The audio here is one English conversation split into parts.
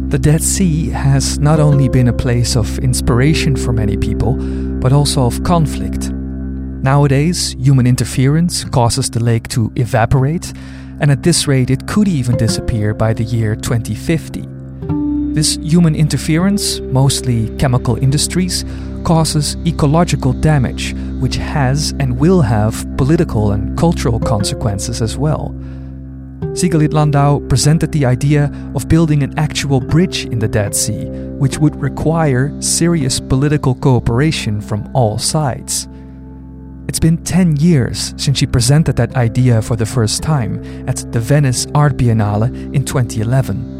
The Dead Sea has not only been a place of inspiration for many people, but also of conflict. Nowadays, human interference causes the lake to evaporate, and at this rate it could even disappear by the year 2050. This human interference, mostly chemical industries, causes ecological damage, which has and will have political and cultural consequences as well. Siegelied Landau presented the idea of building an actual bridge in the Dead Sea, which would require serious political cooperation from all sides. It's been 10 years since she presented that idea for the first time at the Venice Art Biennale in 2011.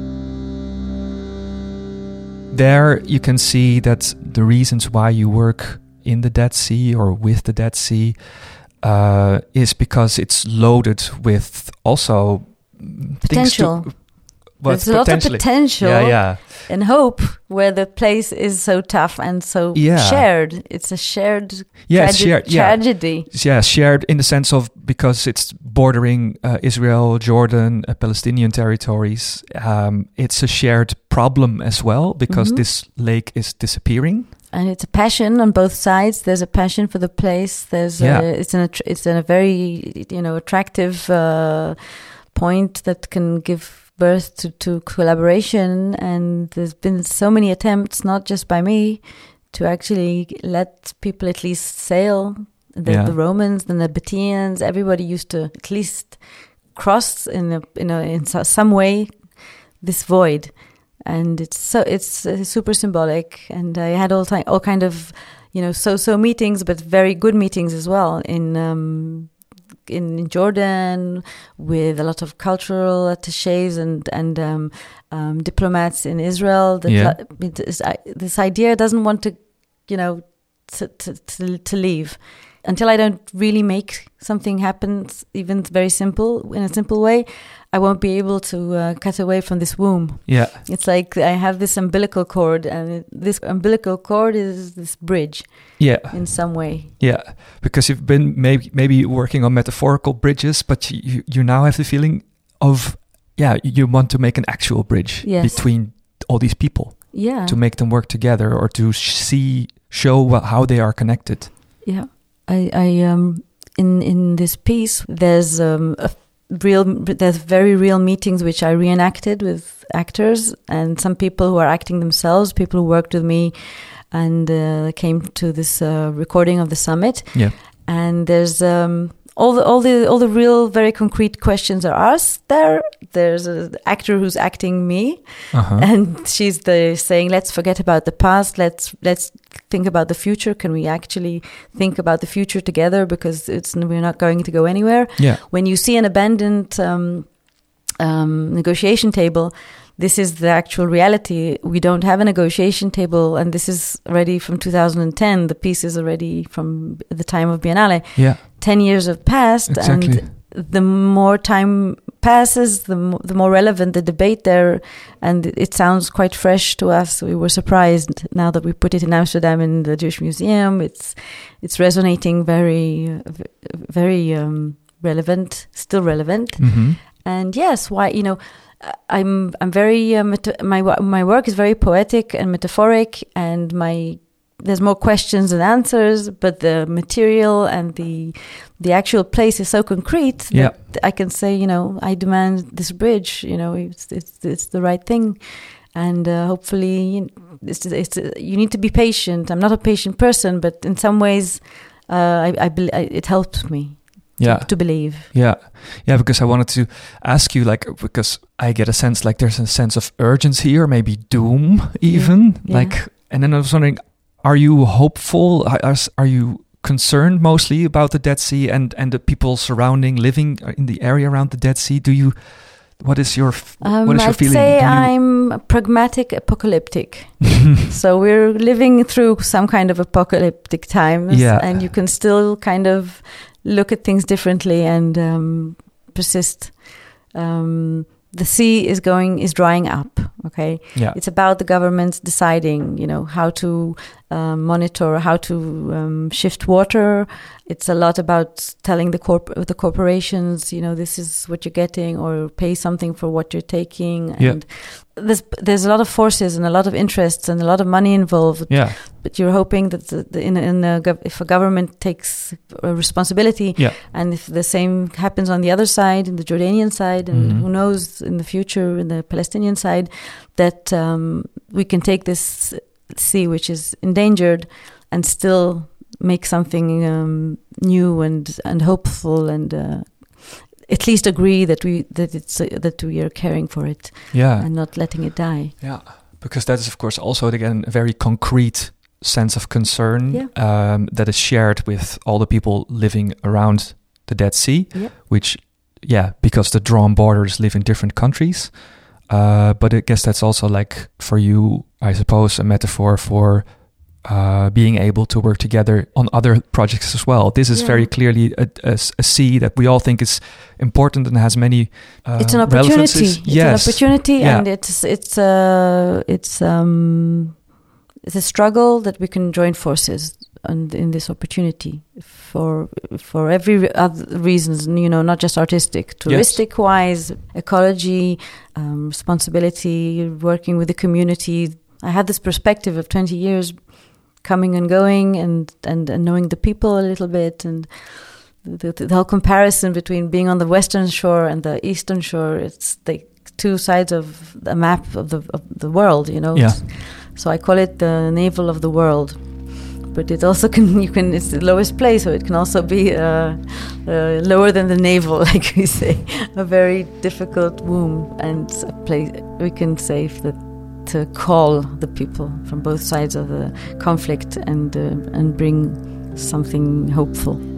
There you can see that the reasons why you work in the Dead Sea or with the Dead Sea is because it's loaded with also potential. There's a lot of potential and hope where the place is so tough and so shared. It's a shared tragedy. Yeah, shared in the sense of because it's bordering Israel, Jordan, Palestinian territories. It's a shared problem as well because this lake is disappearing. And it's a passion on both sides. There's a passion for the place. There's it's a very attractive point that can give birth to collaboration. And there's been so many attempts, not just by me, to actually let people at least sail. The Romans, the Nabateans, everybody used to at least cross in some way this void. And it's super symbolic, and I had all kind of so meetings, but very good meetings as well in Jordan with a lot of cultural attachés and diplomats in Israel. This idea doesn't want to leave until I don't really make something happen, even very simple in a simple way. I won't be able to cut away from this womb. Yeah, it's like I have this umbilical cord, and this umbilical cord is this bridge. Yeah, in some way. Yeah, because you've been maybe working on metaphorical bridges, but you now have the feeling of you want to make an actual bridge between all these people. Yeah, to make them work together or to show how they are connected. Yeah, I in this piece there's there's very real meetings which I reenacted with actors and some people who are acting themselves, people who worked with me and came to this recording of the summit. Yeah, and there's all the real very concrete questions are asked there. There's an actor who's acting me, and she's saying, "Let's forget about the past. Let's think about the future. Can we actually think about the future together? Because we're not going to go anywhere." Yeah. When you see an abandoned negotiation table, this is the actual reality. We don't have a negotiation table, and this is already from 2010. The piece is already from the time of Biennale. Yeah. 10 years have passed, exactly. And the more time passes, the more relevant the debate there, and it sounds quite fresh to us. We were surprised now that we put it in Amsterdam in the Jewish Museum. It's resonating very, very relevant, still relevant. Mm-hmm. And yes, why I'm very my work is very poetic and metaphoric, and there's more questions than answers, but the material and the actual place is so concrete that I can say, I demand this bridge. It's the right thing, and hopefully, you need to be patient. I'm not a patient person, but in some ways, it helps me. To believe. Yeah, because I wanted to ask you, because I get a sense there's a sense of urgency or maybe doom even, and then I was wondering, are you hopeful? Are you concerned mostly about the Dead Sea and the people living in the area around the Dead Sea? What is your feeling? I'd say I'm pragmatic, apocalyptic. So we're living through some kind of apocalyptic times, and you can still kind of look at things differently and persist. The sea is drying up. Okay, it's about the governments deciding, how to monitor, how to shift water. It's a lot about telling the corporations, this is what you're getting, or pay something for what you're taking. And there's a lot of forces and a lot of interests and a lot of money involved. Yeah. But you're hoping that if a government takes a responsibility, and if the same happens on the other side, in the Jordanian side, and who knows in the future in the Palestinian side, that we can take this sea, which is endangered, and still make something new and hopeful, and at least agree that we are caring for it, and not letting it die. Yeah, because that is, of course, also again a very concrete sense of concern that is shared with all the people living around the Dead Sea, which, because the drawn borders live in different countries. But I guess that's also, like, for you, I suppose, a metaphor for being able to work together on other projects as well. This is very clearly a sea that we all think is important and has many it's an opportunity. It's an opportunity, and it's a struggle that we can join forces and in this opportunity for every other reasons, not just artistic, touristic wise, ecology, responsibility, working with the community. I had this perspective of 20 years coming and going, and knowing the people a little bit, and the whole comparison between being on the western shore and the eastern shore. It's the two sides of the map of the world, So I call it the navel of the world. But it also it's the lowest place, so it can also be lower than the navel, like we say, a very difficult womb, and a place we can say that to call the people from both sides of the conflict and bring something hopeful.